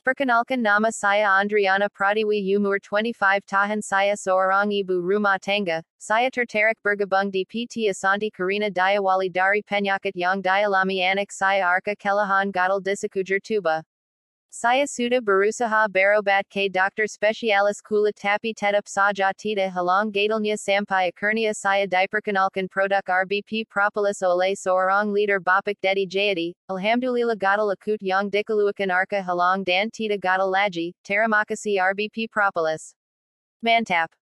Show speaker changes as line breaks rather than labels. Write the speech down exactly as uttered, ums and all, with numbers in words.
Perkenalkan nama saya Andriana Pratiwi umur twenty-five tahun saya seorang ibu rumah tangga, saya tertarik bergabung di P T Asanti Karina Diawali dari penyakit yang dialami anak saya Arka kelelahan gatal di sekujur tubuh. Saya sudah berusaha berobat ke dokter spesialis kulit tapi tetap saja tidak hilang gatalnya sampai akhirnya saya diperkenalkan produk R B P Propolis oleh seorang leader Bapak Dedi Jayadi. Alhamdulillah gatal akut yang dikeluarkan Arka hilang dan tidak gatal lagi. Terima kasih R B P Propolis. Mantap.